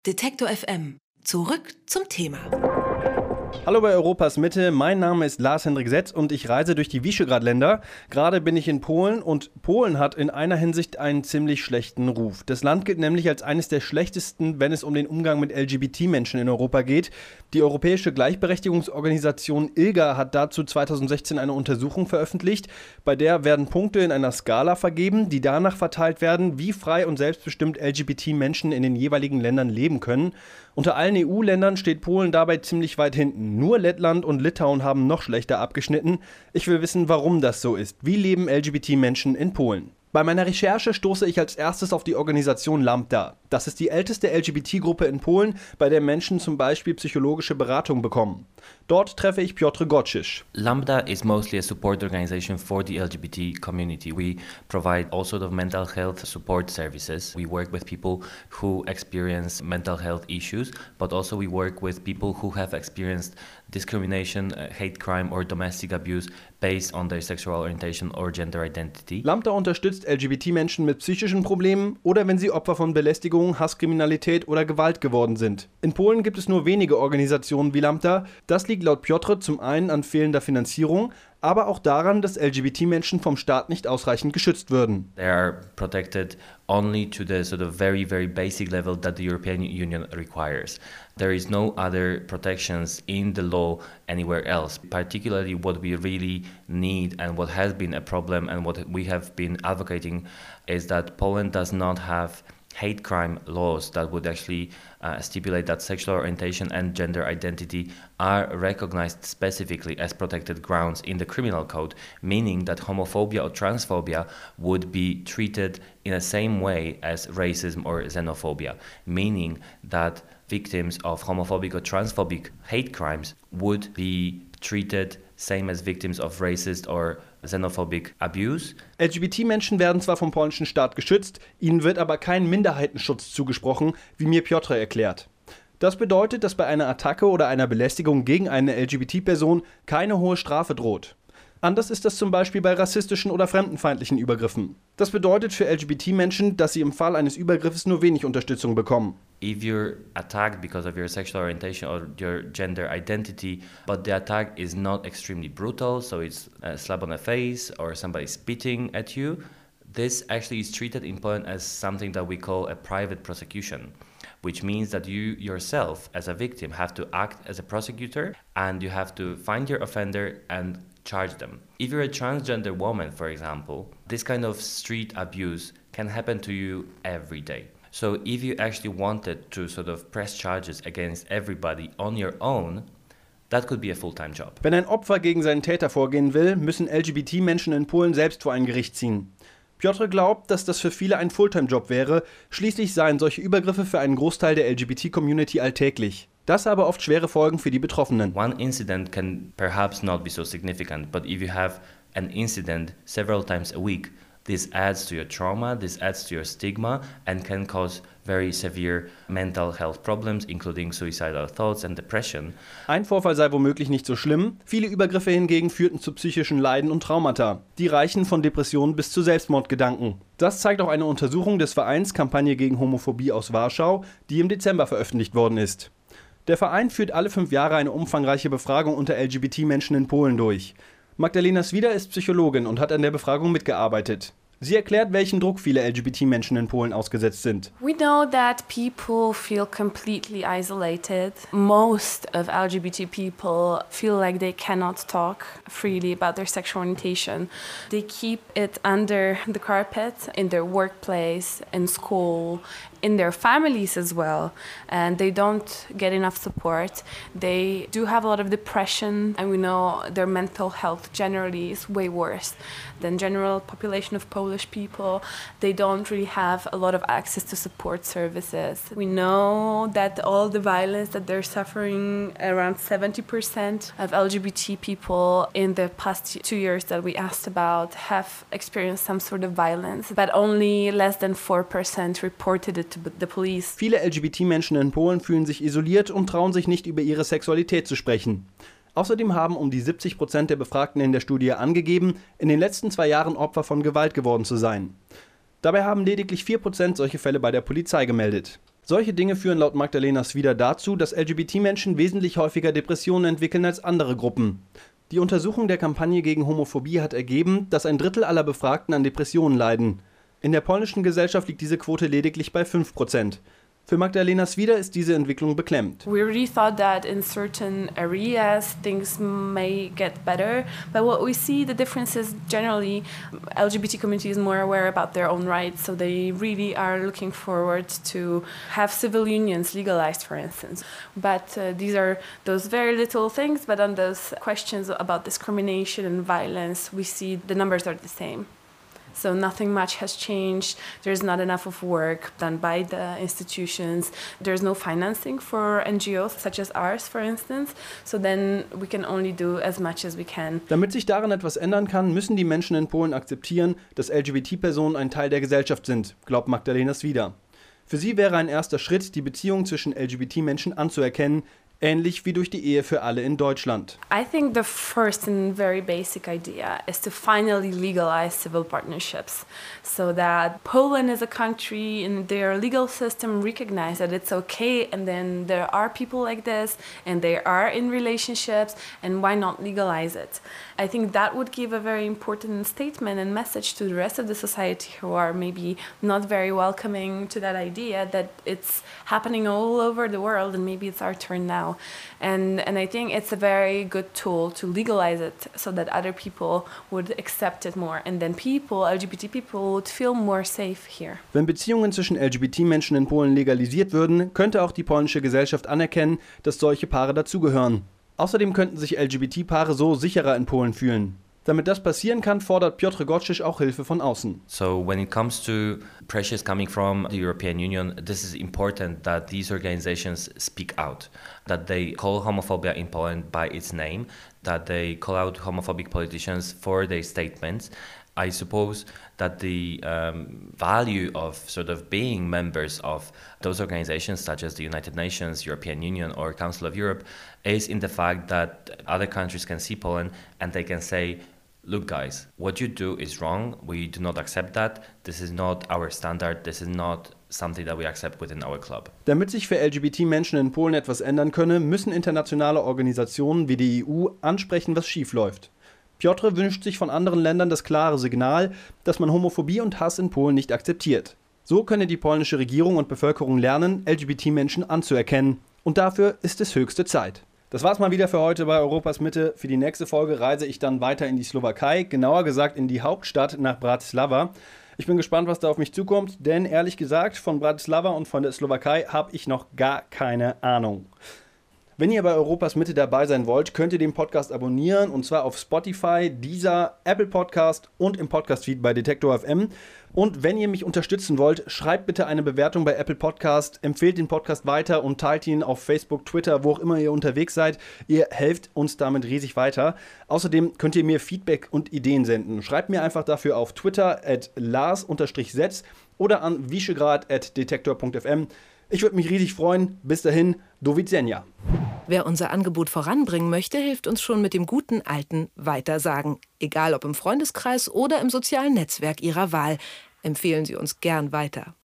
Detektor FM. Zurück zum Thema. Hallo bei Europas Mitte, mein Name ist Lars-Hendrik Setz und ich reise durch die Visegrad-Länder. Gerade bin ich in Polen und Polen hat in einer Hinsicht einen ziemlich schlechten Ruf. Das Land gilt nämlich als eines der schlechtesten, wenn es um den Umgang mit LGBT-Menschen in Europa geht. Die Europäische Gleichberechtigungsorganisation ILGA hat dazu 2016 eine Untersuchung veröffentlicht. Bei der werden Punkte in einer Skala vergeben, die danach verteilt werden, wie frei und selbstbestimmt LGBT-Menschen in den jeweiligen Ländern leben können. Unter allen EU-Ländern steht Polen dabei ziemlich weit hinten. Nur Lettland und Litauen haben noch schlechter abgeschnitten. Ich will wissen, warum das so ist. Wie leben LGBT-Menschen in Polen? Bei meiner Recherche stoße ich als erstes auf die Organisation Lambda. Das ist die älteste LGBT-Gruppe in Polen, bei der Menschen zum Beispiel psychologische Beratung bekommen. Dort treffe ich Piotr Gocisz. Lambda is mostly a support organization for the LGBT community. We provide all sort of mental health support services. We work with people who experience mental health issues, but also we work with people who have experienced discrimination, hate crime or domestic abuse based on their sexual orientation or gender identity. Lambda unterstützt LGBT-Menschen mit psychischen Problemen oder wenn sie Opfer von Belästigung, Hasskriminalität oder Gewalt geworden sind. In Polen gibt es nur wenige Organisationen wie Lambda. Das liegt laut Piotr zum einen an fehlender Finanzierung, aber auch daran, dass LGBT-Menschen vom Staat nicht ausreichend geschützt würden. They are protected only to the sort of very, very basic level that the European Union requires. There is no other protections in the law anywhere else. Particularly what we really need and what has been a problem and what we have been advocating is that Poland does not have hate crime laws that would actually stipulate that sexual orientation and gender identity are recognized specifically as protected grounds in the criminal code, meaning that homophobia or transphobia would be treated in the same way as racism or xenophobia, meaning that victims of homophobic or transphobic hate crimes would be treated same as victims of racist or xenophobic abuse. LGBT-Menschen werden zwar vom polnischen Staat geschützt, ihnen wird aber kein Minderheitenschutz zugesprochen, wie mir Piotr erklärt. Das bedeutet, dass bei einer Attacke oder einer Belästigung gegen eine LGBT-Person keine hohe Strafe droht. Anders ist das zum Beispiel bei rassistischen oder fremdenfeindlichen Übergriffen. Das bedeutet für LGBT-Menschen, dass sie im Fall eines Übergriffes nur wenig Unterstützung bekommen. If you're attacked because of your sexual orientation or your gender identity, but the attack is not extremely brutal, so it's a slap on the face or somebody spitting at you, this actually is treated in Poland as something that we call a private prosecution, which means that you yourself as a victim have to act as a prosecutor and you have to find your offender and charge them. If you're a transgender woman, for example, this kind of street abuse can happen to you every day. So if you actually wanted to sort of press charges against everybody on your own, that could be a full-time job. Wenn ein Opfer gegen seinen Täter vorgehen will, müssen LGBT-Menschen in Polen selbst vor ein Gericht ziehen. Piotr glaubt, dass das für viele ein Fulltime-Job wäre, schließlich seien solche Übergriffe für einen Großteil der LGBT-Community alltäglich. Das habe oft schwere Folgen für die Betroffenen. One incident can perhaps not be so significant, but if you have an incident several times a week, this adds to your trauma, this adds to your stigma and can cause very severe mental health problems, including suicidal thoughts and depression. Ein Vorfall sei womöglich nicht so schlimm, viele Übergriffe hingegen führten zu psychischen Leiden und Traumata. Die reichen von Depressionen bis zu Selbstmordgedanken. Das zeigt auch eine Untersuchung des Vereins Kampagne gegen Homophobie aus Warschau, die im Dezember veröffentlicht worden ist. Der Verein führt alle 5 Jahre eine umfangreiche Befragung unter LGBT-Menschen in Polen durch. Magdalena Swider ist Psychologin und hat an der Befragung mitgearbeitet. Sie erklärt, welchen Druck viele LGBT-Menschen in Polen ausgesetzt sind. We know that people feel completely isolated. Most of LGBT people feel like they cannot talk freely about their sexual orientation. They keep it under the carpet in their workplace, in school, in their families as well, and they don't get enough support. They do have a lot of depression, and we know their mental health generally is way worse than general population of Polish people. They don't really have a lot of access to support services. We know that all the violence that they're suffering, around 70% of LGBT people in the past 2 years that we asked about have experienced some sort of violence, but only less than 4% reported it to the police. Viele LGBT-Menschen in Polen fühlen sich isoliert und trauen sich nicht, über ihre Sexualität zu sprechen. Außerdem haben um die 70% der Befragten in der Studie angegeben, in den letzten 2 Jahren Opfer von Gewalt geworden zu sein. Dabei haben lediglich 4% solche Fälle bei der Polizei gemeldet. Solche Dinge führen laut Magdalena Swider dazu, dass LGBT-Menschen wesentlich häufiger Depressionen entwickeln als andere Gruppen. Die Untersuchung der Kampagne gegen Homophobie hat ergeben, dass 1/3 aller Befragten an Depressionen leiden. In der polnischen Gesellschaft liegt diese Quote lediglich bei 5%. Für Magdalena Swider ist diese Entwicklung beklemmend. We really thought that in certain areas things may get better, but what we see the difference is generally LGBT community is more aware about their own rights, so they really are looking forward to have civil unions legalized, for instance. But these are those very little things, but on those questions about discrimination and violence, we see the numbers are the same. So nothing much has changed. There's not enough of work done by the institutions. There's no financing for NGOs such as ours, for instance. So then we can only do as much as we can. Damit sich daran etwas ändern kann, müssen die Menschen in Polen akzeptieren, dass LGBT-Personen ein Teil der Gesellschaft sind, glaubt Magdalena Swider. Für sie wäre ein erster Schritt, die Beziehung zwischen LGBT-Menschen anzuerkennen, ähnlich wie durch die Ehe für alle in Deutschland. I think the first and very basic idea is to finally legalize civil partnerships so that Poland as a country in their legal system recognize that it's okay and then there are people like this and they are in relationships and why not legalize it? I think that would give a very important statement and message to the rest of the society who are maybe not very welcoming to that idea that it's happening all over the world and maybe it's our turn now. And I think it's a very good tool to legalize it so that other people would accept it more and then people, LGBT people, would feel more safe here. Wenn Beziehungen zwischen LGBT-Menschen in Polen legalisiert würden, könnte auch die polnische Gesellschaft anerkennen, dass solche Paare dazugehören. Außerdem könnten sich LGBT-Paare so sicherer in Polen fühlen. Damit das passieren kann, fordert Piotr Gottschalk auch Hilfe von außen. So when it comes to pressures coming from the European Union, this is important that these organizations speak out, that they call homophobia in Poland by its name, that they call out homophobic politicians for their statements. I suppose that the value of sort of being members of those organizations such as the United Nations, European Union or Council of Europe is in the fact that other countries can see Poland and they can say, look guys, what you do is wrong, we do not accept that, this is not our standard, this is not something that we accept within our club. Damit sich für LGBT-Menschen in Polen etwas ändern könne, müssen internationale Organisationen wie die EU ansprechen, was schiefläuft. Piotr wünscht sich von anderen Ländern das klare Signal, dass man Homophobie und Hass in Polen nicht akzeptiert. So könne die polnische Regierung und Bevölkerung lernen, LGBT-Menschen anzuerkennen. Und dafür ist es höchste Zeit. Das war's mal wieder für heute bei Europas Mitte. Für die nächste Folge reise ich dann weiter in die Slowakei, genauer gesagt in die Hauptstadt nach Bratislava. Ich bin gespannt, was da auf mich zukommt, denn ehrlich gesagt, von Bratislava und von der Slowakei habe ich noch gar keine Ahnung. Wenn ihr bei Europas Mitte dabei sein wollt, könnt ihr den Podcast abonnieren und zwar auf Spotify, Deezer, Apple Podcast und im Podcast-Feed bei Detektor FM. Und wenn ihr mich unterstützen wollt, schreibt bitte eine Bewertung bei Apple Podcast, empfehlt den Podcast weiter und teilt ihn auf Facebook, Twitter, wo auch immer ihr unterwegs seid. Ihr helft uns damit riesig weiter. Außerdem könnt ihr mir Feedback und Ideen senden. Schreibt mir einfach dafür auf Twitter @Lars_Setz oder an visegrad@detektor.fm. Ich würde mich riesig freuen. Bis dahin, do widzenia. Wer unser Angebot voranbringen möchte, hilft uns schon mit dem guten alten Weitersagen. Egal ob im Freundeskreis oder im sozialen Netzwerk Ihrer Wahl. Empfehlen Sie uns gern weiter.